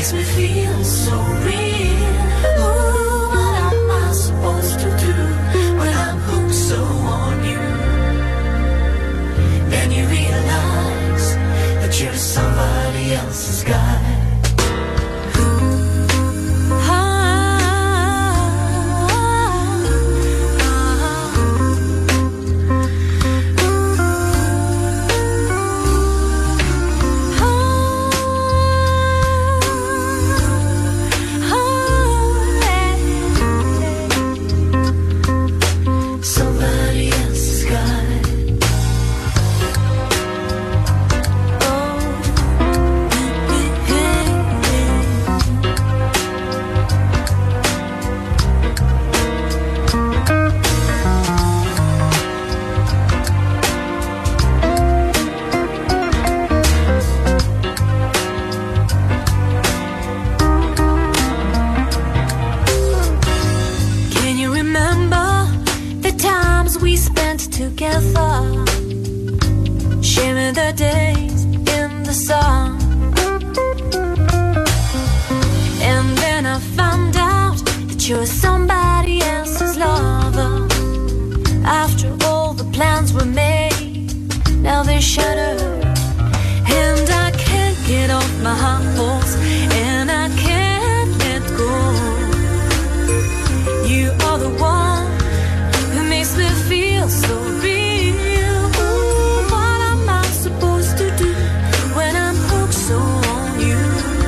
makes me feel so real. Ooh, what am I supposed to do when I'm hooked so on you? Then you realize that you're somebody else's guy. You're somebody else's lover. After all the plans were made, now they're shattered. And I can't get off my high horse, and I can't let go. You are the one who makes me feel so real. Ooh, what am I supposed to do when I'm hooked so on you?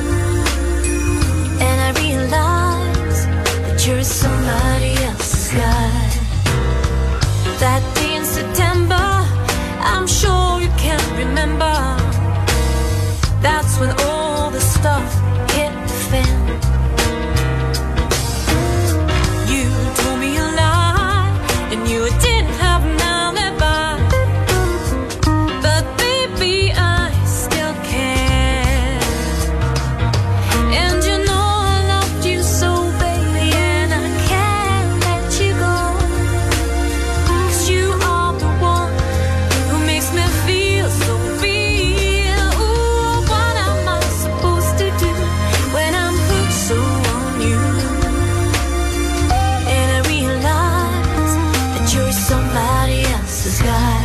And I realize you're somebody else's guy. That day in September, I'm sure you can't remember. That's when all the stuff hit the fan. You told me a lie, and you didn't have an alibi. But baby, I still care. And you know I loved you so, baby, and I can't let you go. 'Cause you are the one who makes me feel so real. Ooh, what am I supposed to do when I'm hooked so on you? And I realize that you're somebody else's guy.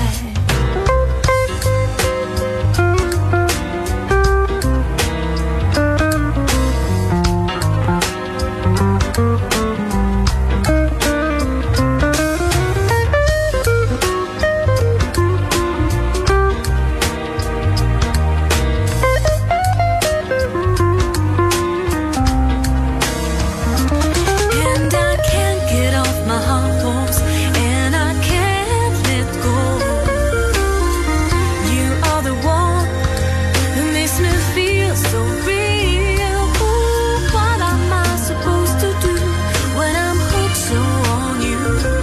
And I can't get off my high horse, and I can't let go. You are the one who makes me feel so real. Ooh, what am I supposed to do when I'm hooked so on you?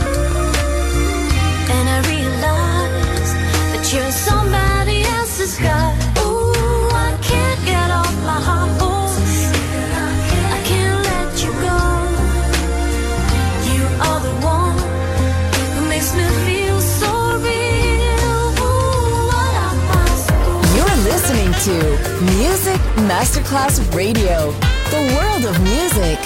And I realize that you're somebody else's guy. Ooh, I can't get off my high horse, I can't let you go. You are the one who makes me feel so real. Ooh, what am I supposed to do? You're listening to Music Masterclass Radio, the world of music.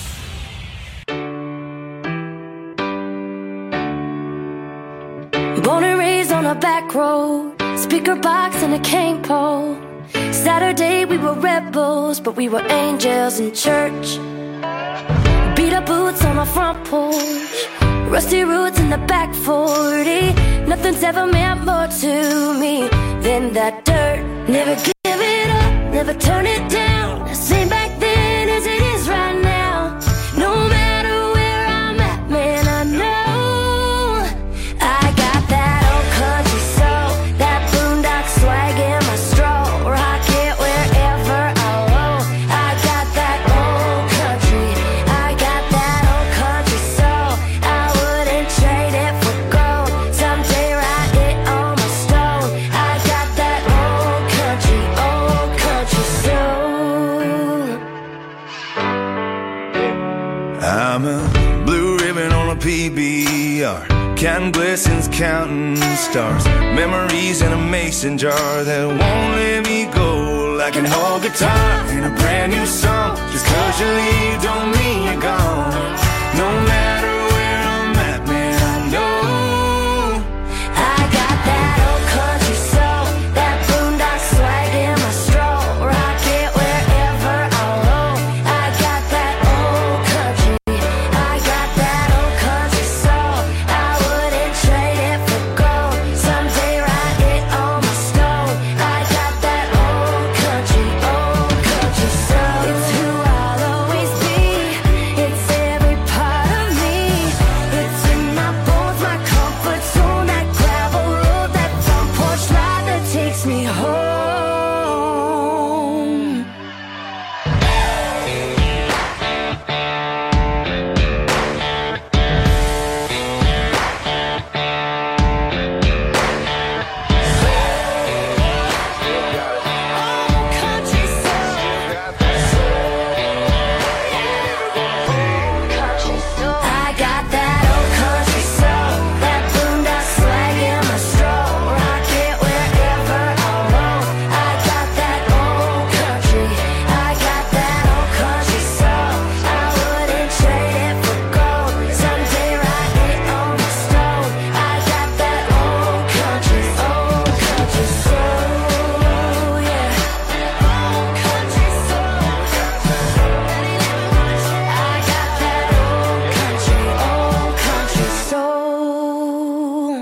Born and raised on a back road, speaker box and a cane pole. Saturday we were rebels, but we were angels in church. Beat up boots on our front porch, rusty roots in the back 40. Nothing's ever meant more to me than that dirt. Never give it up, never turn it down. Same back then as it is right now. No matter where I'm at, man, I know I got that old country soul, that boondock swag in my stroll. Rock it wherever I roll. I got that old country, I got that old country soul. I wouldn't trade it for gold. Someday write it on my stone. I got that old country soul. I'm a blue ribbon on a PBR, counting blessings, counting stars, memories in a mason jar that won't let me go. like an old guitar in a brand new song. Just 'cause you leave don't mean you're gone. No matter where I'm at, man, I know I got that old country soul, that boondock swag in my stroll. Rock it wherever I roll. I got that old country, I got that old country soul. I wouldn't trade it for gold. Someday write it on my stove. I got that old country soul. It's who I'll always be. It's every part of me. It's in my bones, my comfort zone, that gravel road, that front porch ride that takes me home. Country soul. I got that old country soul, that boondock swag in my stroll. Rock it wherever I roll. I got that old country, I got that old country soul. I wouldn't trade it for gold. Someday write it on my stove. I got that old country soul, yeah. Old country soul. I got that old country soul.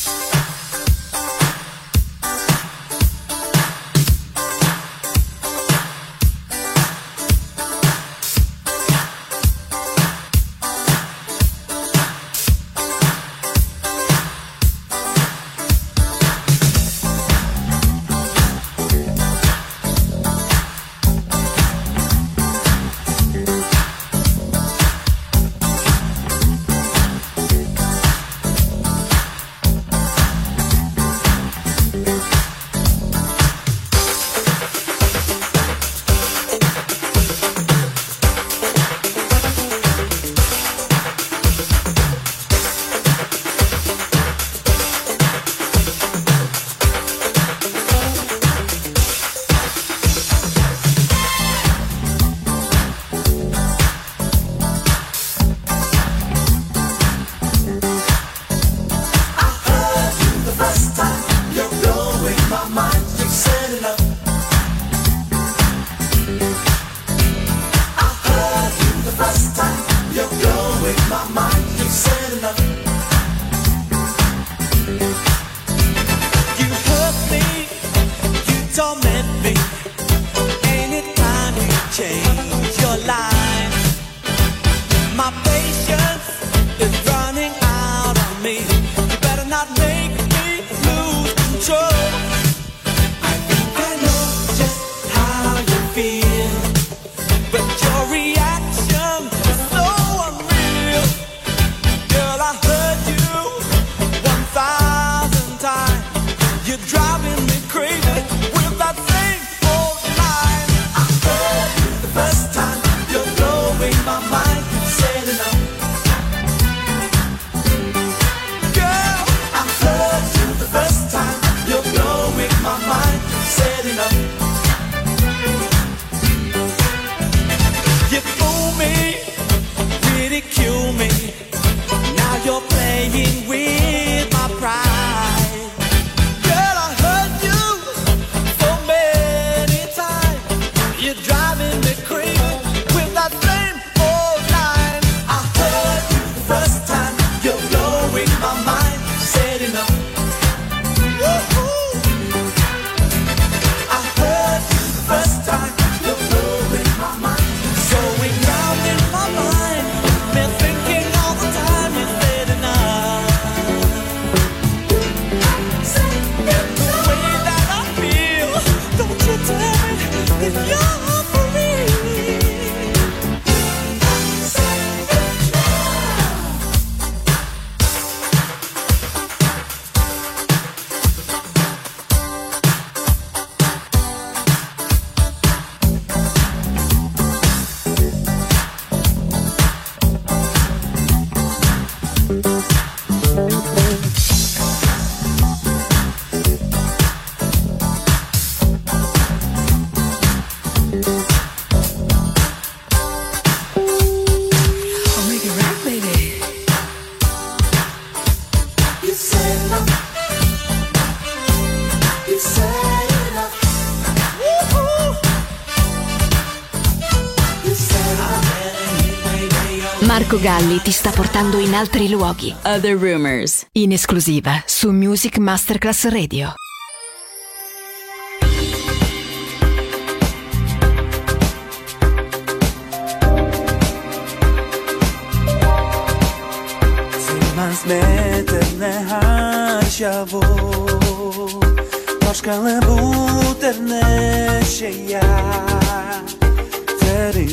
You hurt me, you torment me. Anytime you change your line, my patience is running out on me. You better not make me lose control. I think I know just how you feel, but your reaction is so unreal. Girl, I heard you 1,000 times. You're driving me crazy with that same old line. I heard you the first time. You're blowing my mind, setting up. Girl, I heard you the first time. You're blowing my mind, setting up. You fool me, ridicule me. Now you're playing with my pride. Girl, I heard you so many times. You're driving me crazy with that same old line. I heard you the first time. You're blowing my mind, setting up. Woo-hoo. I heard you the first time. You're blowing my mind, going round in my mind. Been thinking all the time you're setting up. The way that I feel, don't you tell me that you're for real. Marco Galli ti sta portando in altri luoghi. Other Rumors, in esclusiva su Music Masterclass Radio. Zmeterne haşavo Başkalı buterne şeyya Teri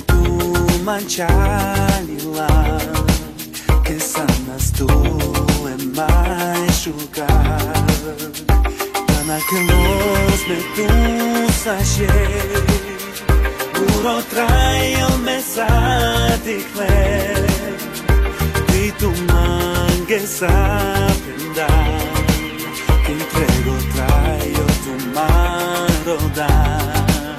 mančalila Che sana stu e mai šukar Dana che los me tu saše Uro trajo me satikle Ti tu mangue sapendar Che entrego trajo tu marodan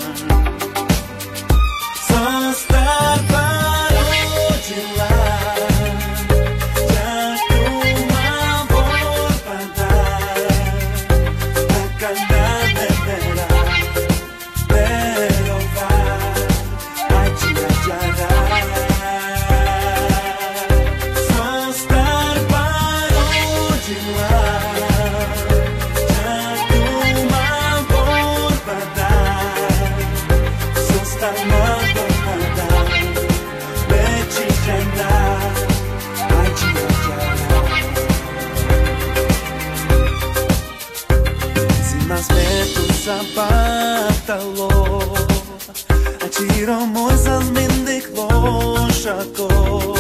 Zapatalo A čiro moj zazmindik lošako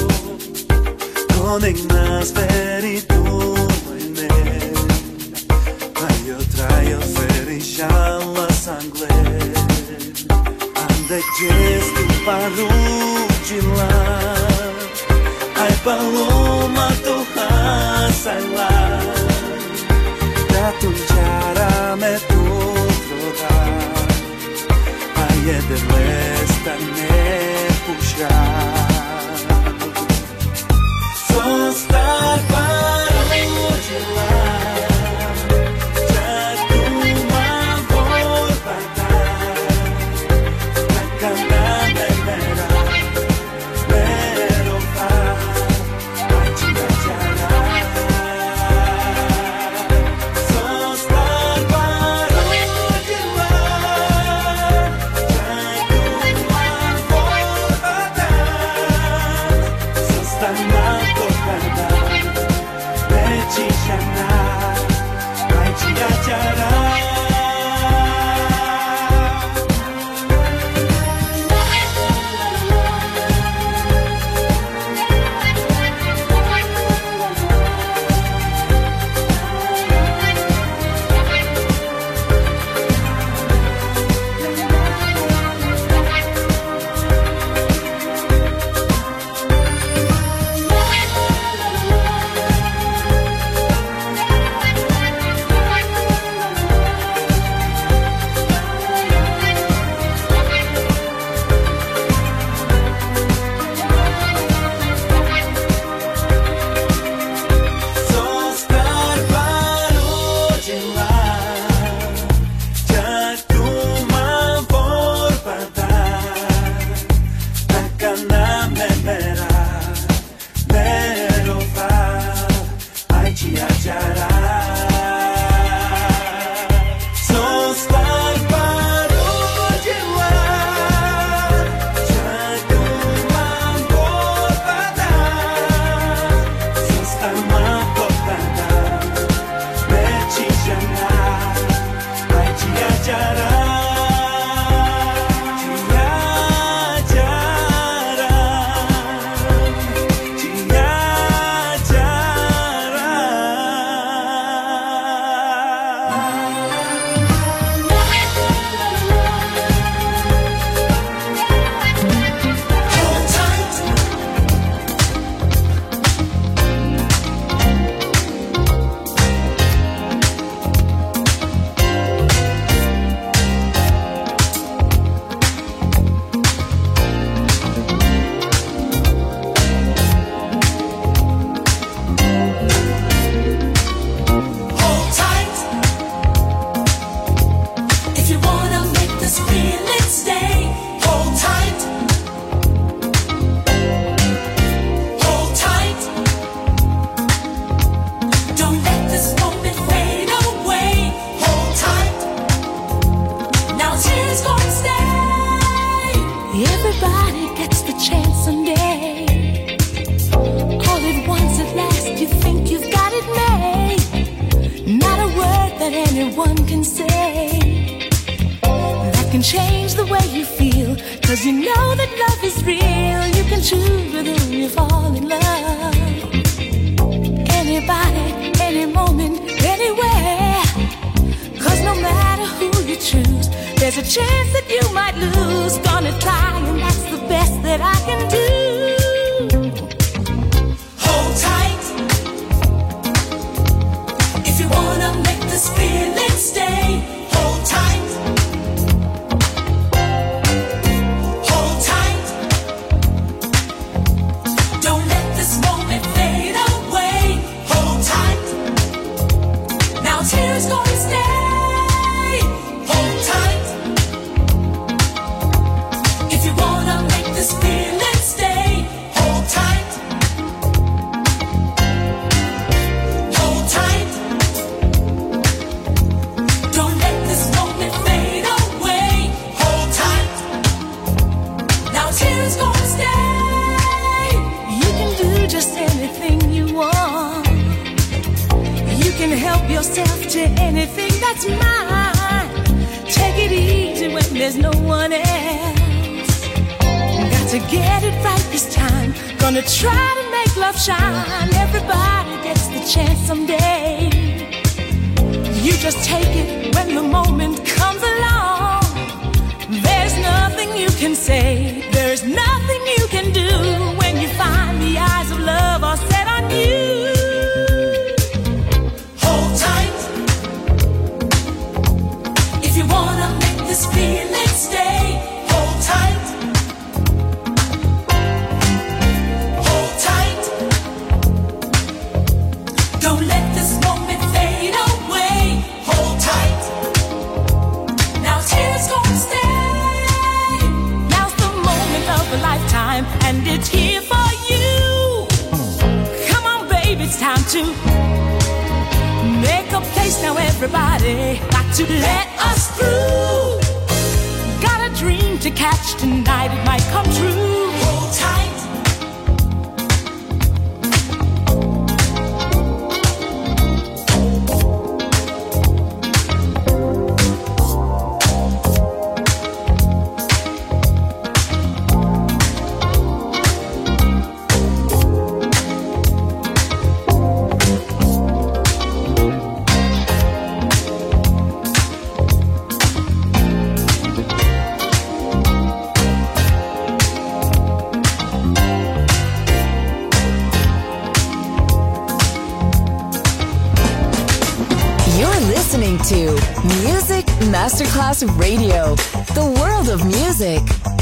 Konek nas veri tu mojne A jo trajo veri šala sangle Ande čestu paručila Aj paloma to hasajla Da tu čara me tu Jeder lesta ne puša Zostar paručila Čak tu mam borba Taka na mera Verova Ači da čara that anyone can say that can change the way you feel. 'Cause you know that love is real. You can choose with whom you fall in love. Anybody, any moment, anywhere. 'Cause no matter who you choose, there's a chance that you might lose. Gonna try, and that's the best that I can do. Hold tight if you wanna make this feeling stay. Hold tight. Hold tight. Don't let this moment fade away. Hold tight. Now tears gonna stay. Hold tight. If you wanna make this feeling stay. Hold tight. Hold tight. Don't let this moment fade away. Hold tight. Now tears gonna stay. You can do just anything you want. You can help yourself to anything that's mine. Take it easy when there's no one else. Got to get it right this time. Gonna try to make love shine. Everybody gets the chance someday. You just take it when the moment comes along. There's nothing you can say. There's nothing you can do when you find the eyes of love are set on you. Hold tight if you wanna make this feeling stay. Hold tight. Hold tight. Don't let this moment fade away. Hold tight. Now tears gonna stay. Now's the moment of a lifetime, and it's here for you. Come on, baby, it's time to make a place now, everybody. Got to let us through. Got a dream to catch tonight, it might come true. Hold tight. Listening to Music Masterclass Radio, the world of music.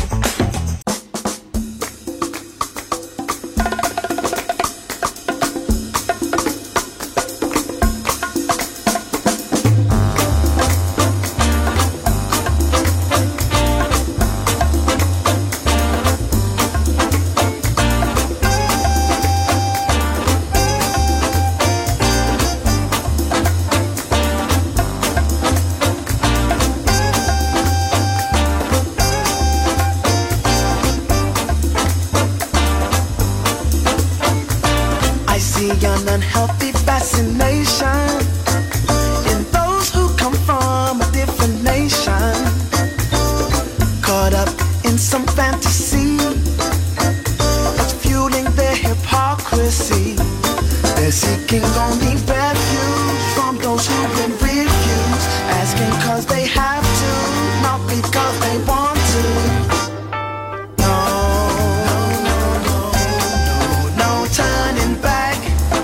An unhealthy fascination in those who come from a different nation, caught up in some fantasy that's fueling their hypocrisy. They're seeking only refuge from those who've been refused, asking cause they have to, not because they want to. No turning back.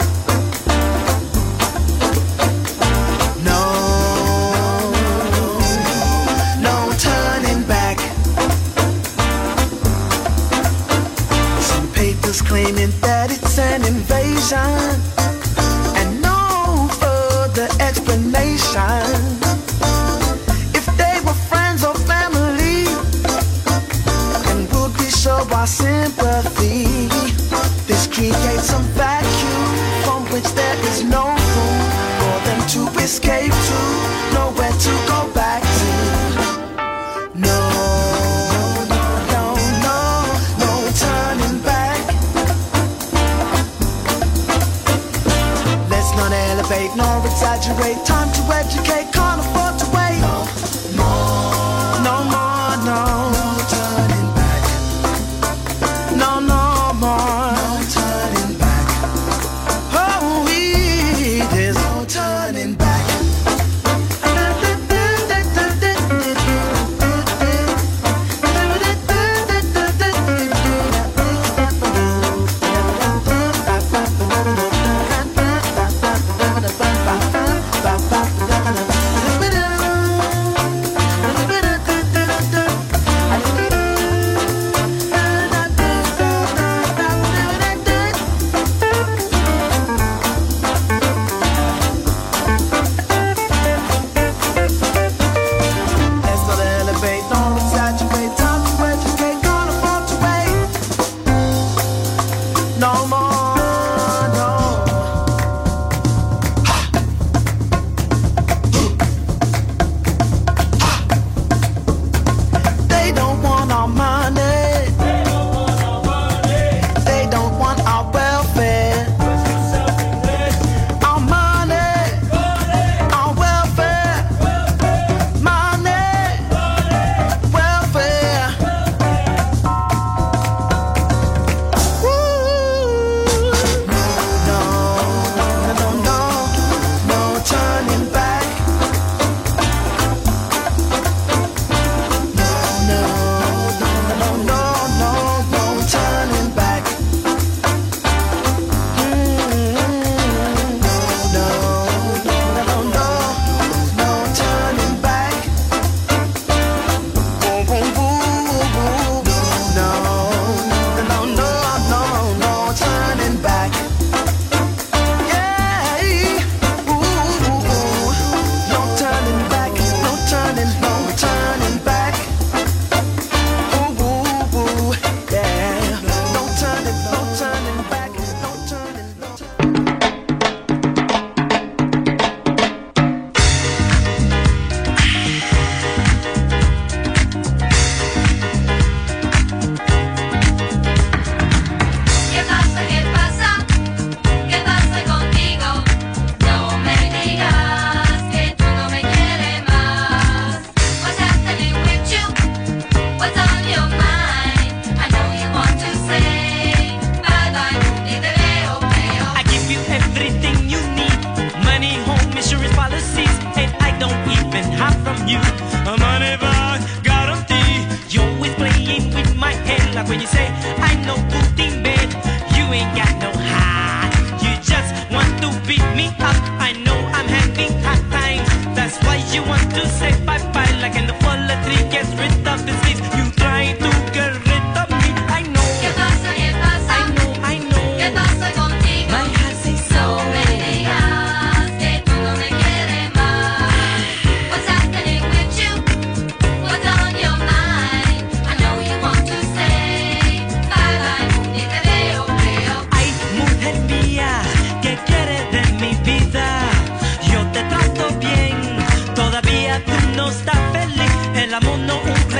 Claiming that it's an invasion and no further explanation. If they were friends or family, and would we show our sympathy? This creates some vacuum from which there is no room for them to escape to, nowhere to go back to. No turning back. Let's not elevate nor exaggerate exaggerate. Time to educate, can't afford to wait. No more, no more, no. No turning back. No, no more. No turning back. Oh, there's no turning back. When you say I know good in bed, you ain't got no heart. You just want to beat me up. I know I'm having hard times. That's why you want to say bye bye. Like in the fall, the tree gets rid of the leaves. You try to get rid of me. I know. ¿Qué pasa? ¿Qué pasa? I know. I know. ¿Qué pasa contigo? My heart says so. No me digas que tú no me quieres más. What's happening with you? What's on your mind? I know you want to say bye bye. Ni te veo, veo. Ay, mujer mía, ¿qué quieres de mi vida? Yo te trato bien, todavía tú no estás feliz. El amor no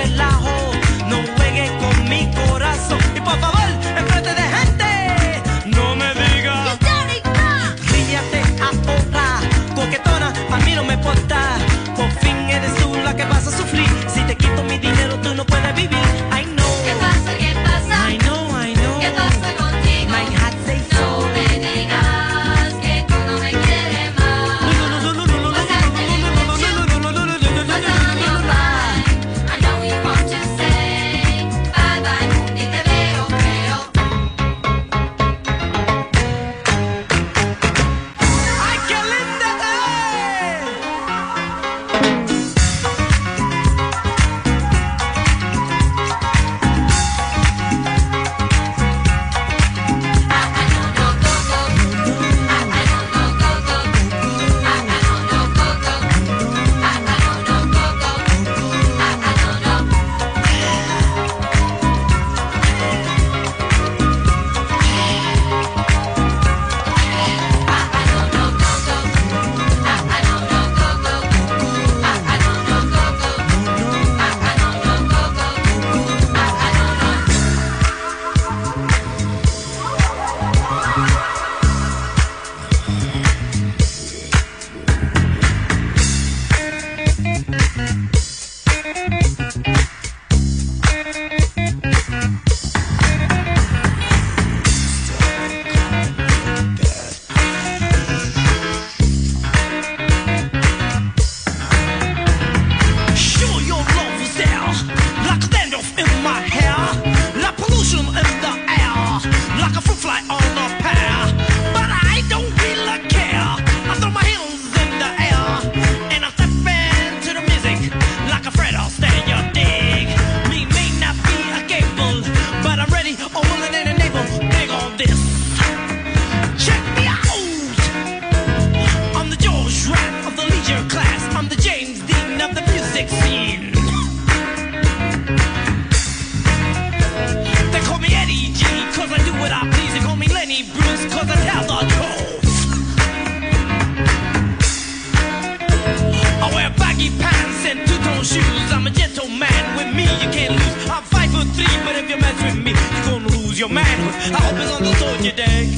I hope it's understood, you dig?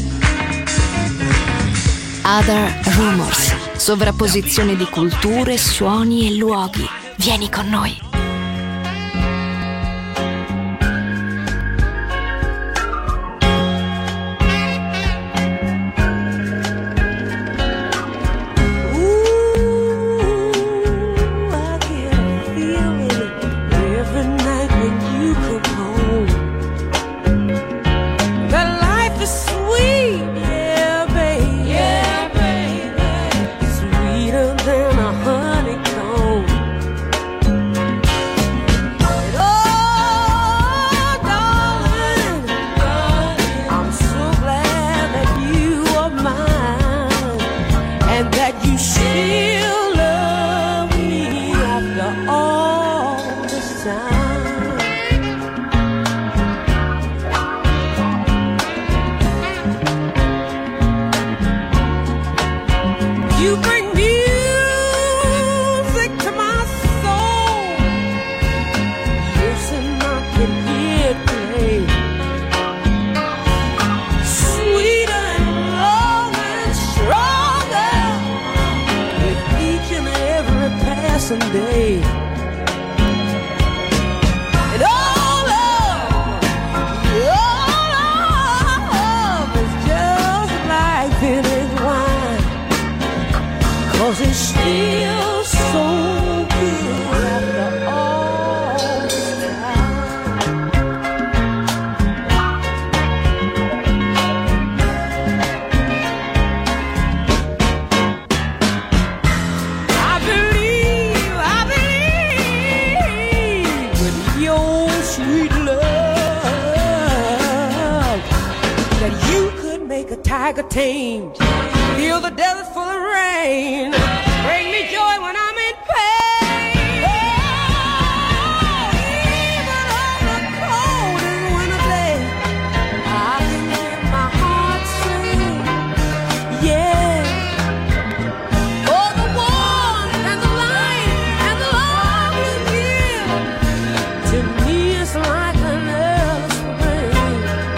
Other Rumors. Sovrapposizione di culture, suoni e luoghi. Vieni con noi. Someday, and all love is just like vintage wine, 'cause it's still so good after all this tiger tamed, feel the desert full of rain, bring me joy when I'm in pain. Oh, even on the coldest winter day, I can hear my heart sing, yeah. Oh, the warmth and the light and the love you give, to me it's like an early spring.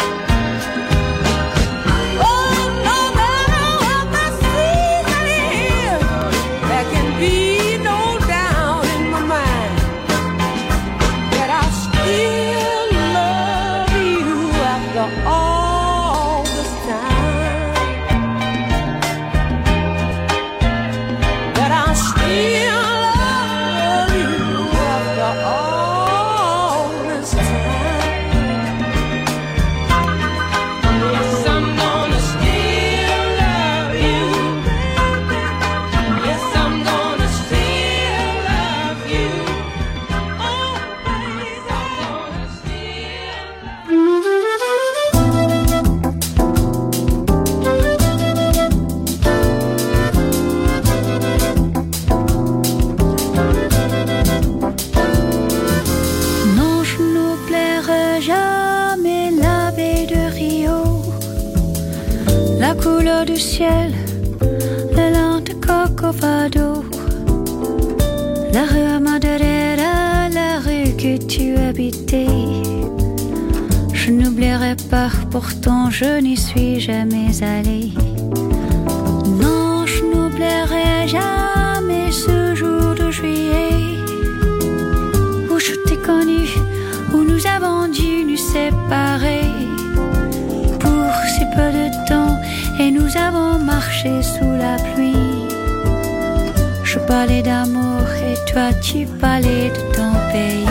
Couleur du ciel, la lente Corcovado, la rue Madureira, la rue que tu habitais. Je n'oublierai pas, pourtant je n'y suis jamais allée. Non, je n'oublierai jamais ce jour de juillet où je t'ai connu, où nous avons dû nous séparer pour si peu de temps. Et nous avons marché sous la pluie. Je parlais d'amour et toi tu parlais de ton pays.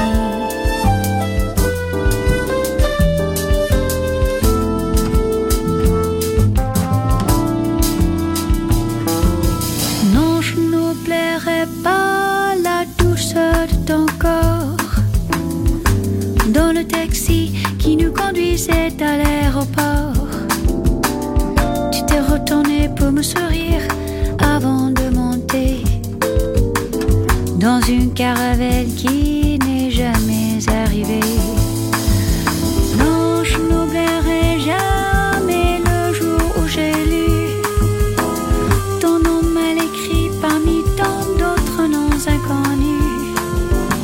Non, je n'oublierai pas la douceur de ton corps dans le taxi qui nous conduisait à l'aéroport. Retourner pour me sourire avant de monter dans une caravelle qui n'est jamais arrivée. Non, je n'oublierai jamais le jour où j'ai lu ton nom mal écrit parmi tant d'autres noms inconnus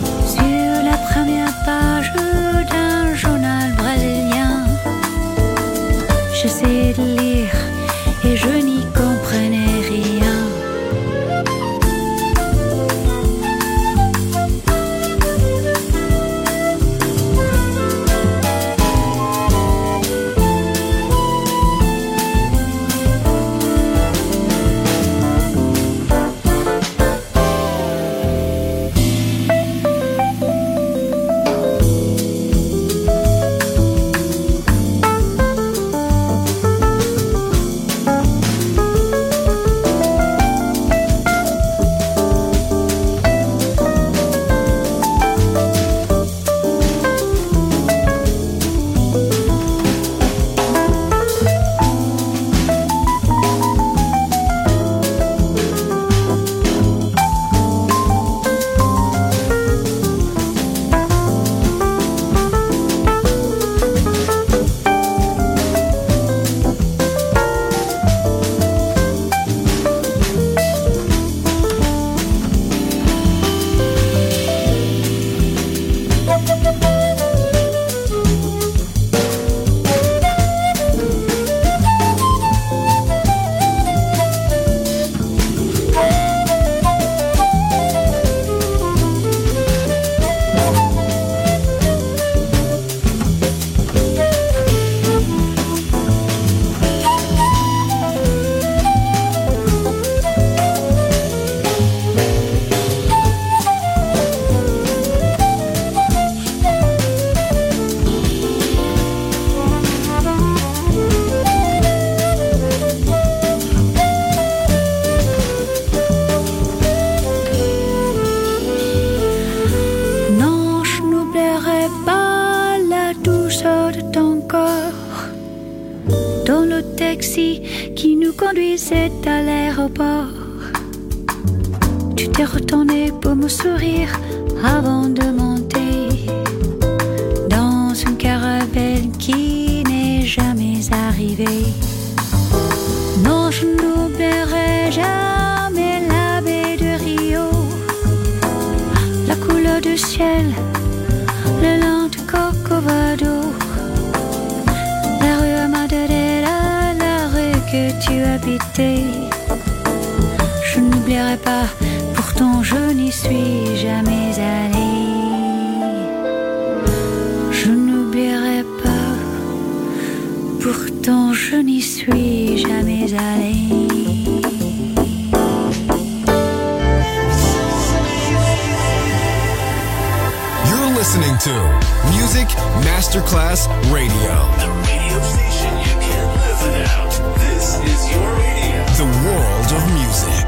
sur la première page d'un journal brésilien. taxi qui nous conduisait à l'aéroport. Tu t'es retourné pour me sourire avant de monter dans une caravelle qui n'est jamais arrivée. Non, je n'oublierai jamais la baie de Rio, la couleur du ciel, le long du Corcovado, la rue Madeira, la rue que tu habitais. Je n'oublierai pas, pourtant je n'y suis jamais allée. Je n'oublierai pas, pourtant je n'y suis jamais allée. You're listening to Music Masterclass Radio. The radio station you can't live without. This is your radio. The world of music.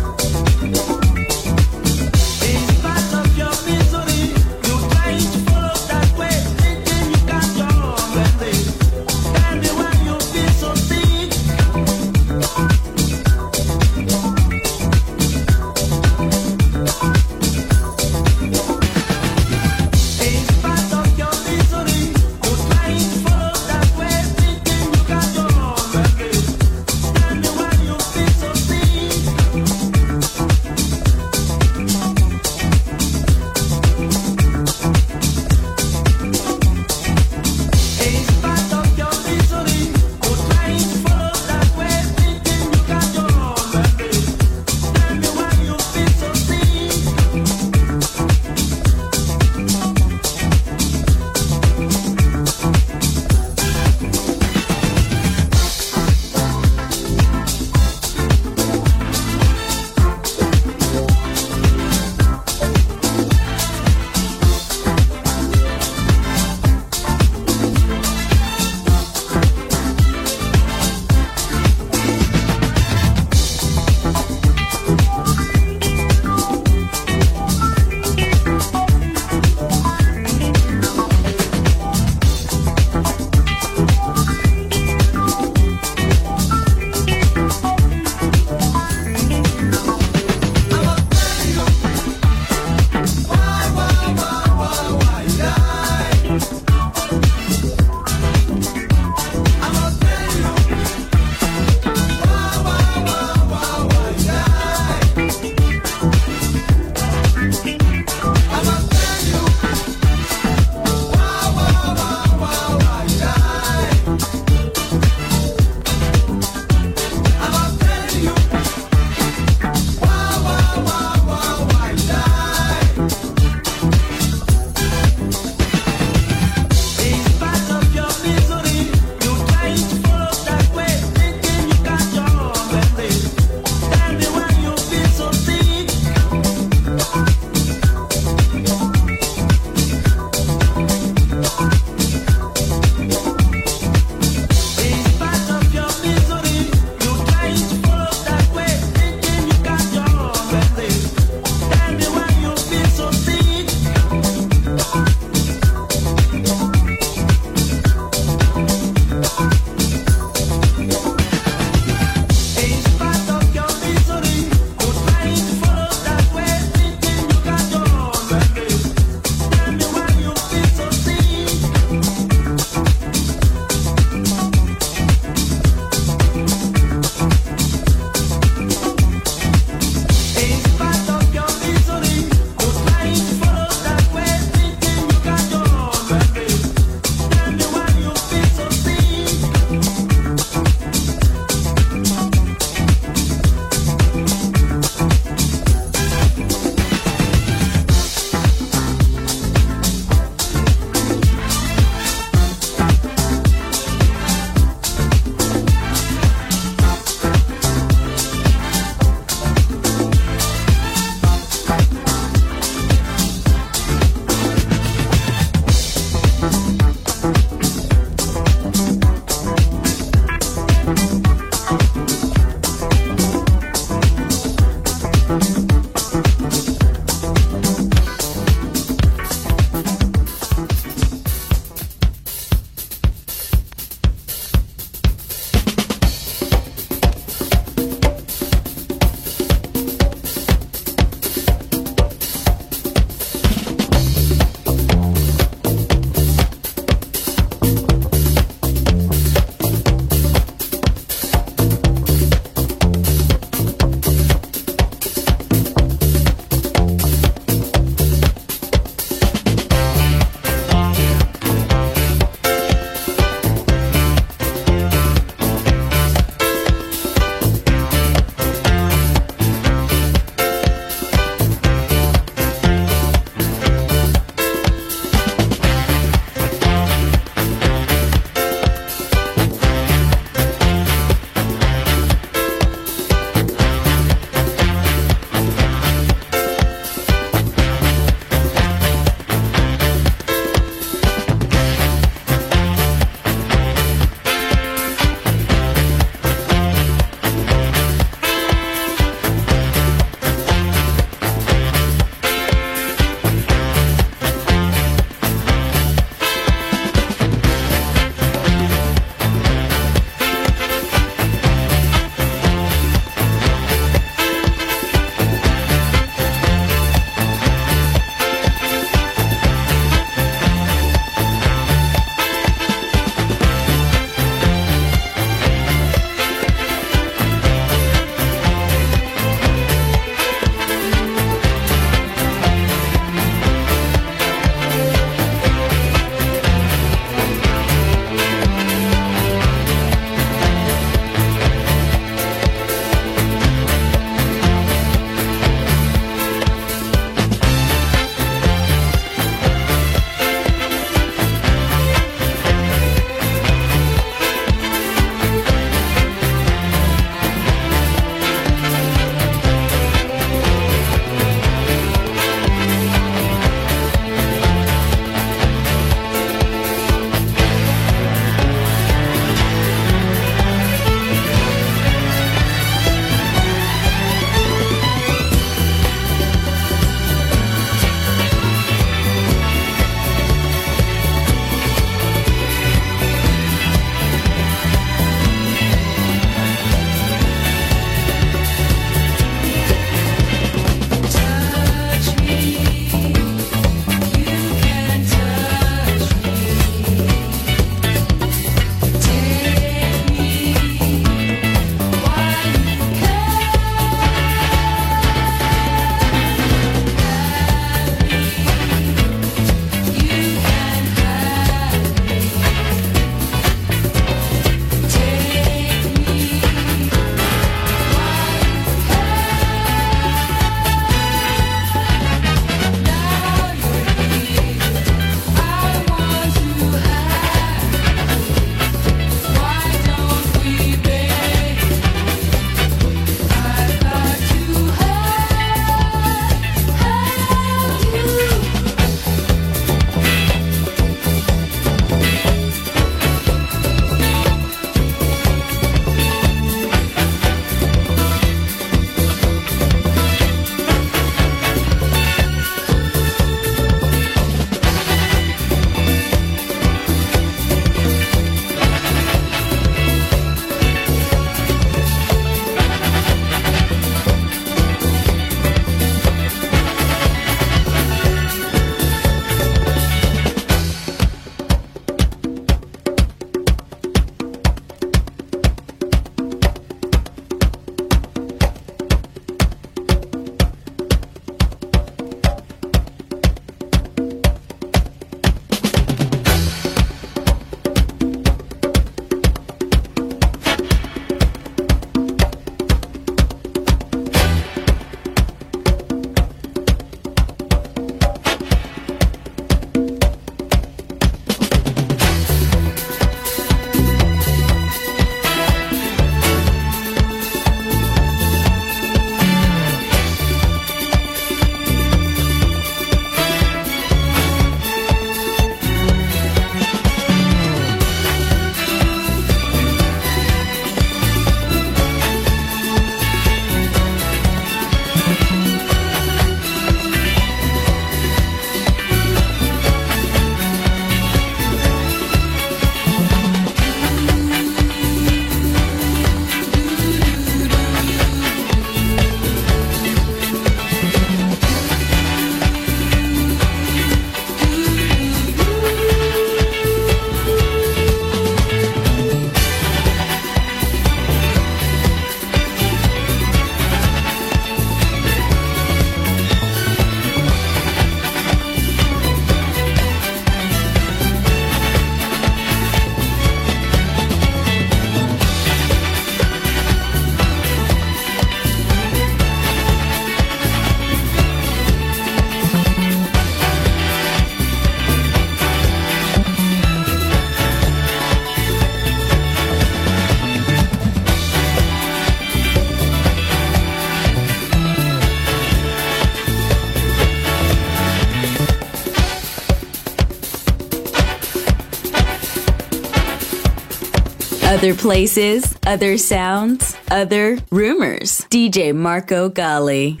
Other places, other sounds, other rumors. DJ Marco Gally.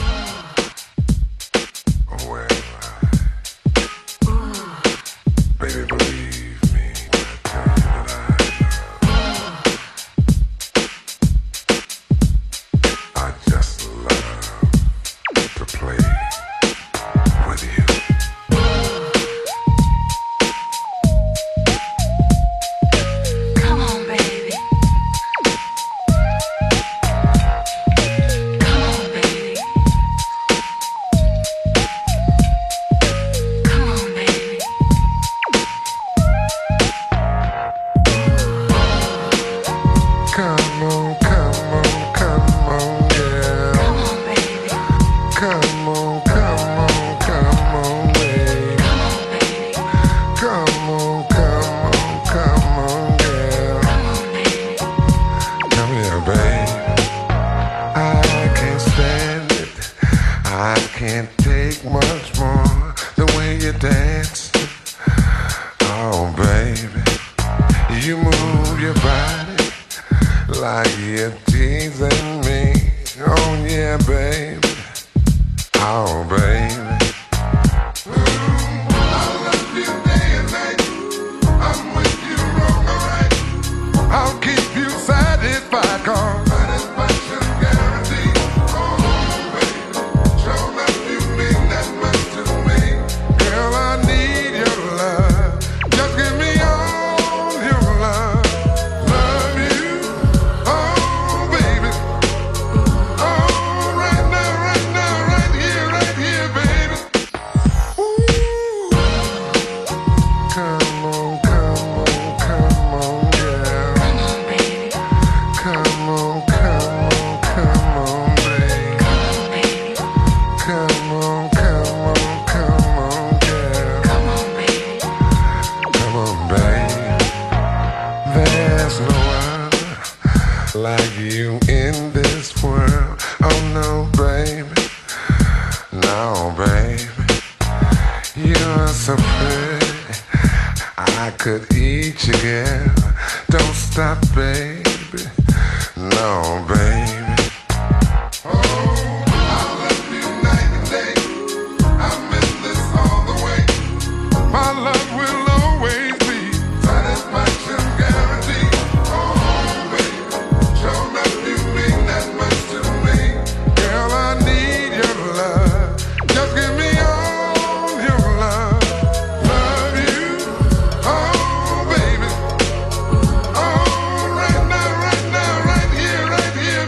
Baby, believe me, I just love to play with you. Come on, baby. Come on, baby. Come on, baby. Come on, come on, come on, yeah. Come on, baby. Come on, come on, come on, baby. Come on, baby. Come on, come on, come on, yeah. Come on, baby. Come here, babe. I can't stand it. I can't take much more. The way you dance. Oh, baby. You move your body like you're teasing me. Oh, yeah, baby. Oh, baby. I love you day and night. I'm with you wrong or right. I'll keep you satisfied, 'cause satisfaction guaranteed. Oh, baby, show that you mean that much to me. Girl, I need your love. Just give me all your love. Love you, oh, baby. Oh, right now, right here, baby. Ooh. Come on, come on, come on, yeah. Come on, baby. Come on, come on, come on, babe. Come on, baby. Come on, come on, come on, yeah. Come on, baby. Come on, babe. There's no other like you in this world. Oh no, baby. No, baby. You're so pretty. I could eat you, girl. Don't stop, baby. No, baby. Oh, I love you night and day. I miss this all the way. My love will always be satisfaction guaranteed. Oh, baby, show that you mean that much to me. Girl, I need your love. Just give me all your love. Love you, oh, baby. Oh, right now, right here,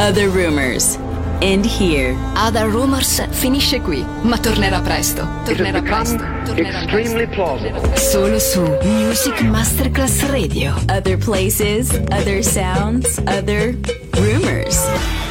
Other Rumors. End here. Other Rumors finisce qui, ma tornerà presto. Tornerà presto. Extremely plausible. Solo su Music Masterclass Radio. Other places, other sounds, other rumors.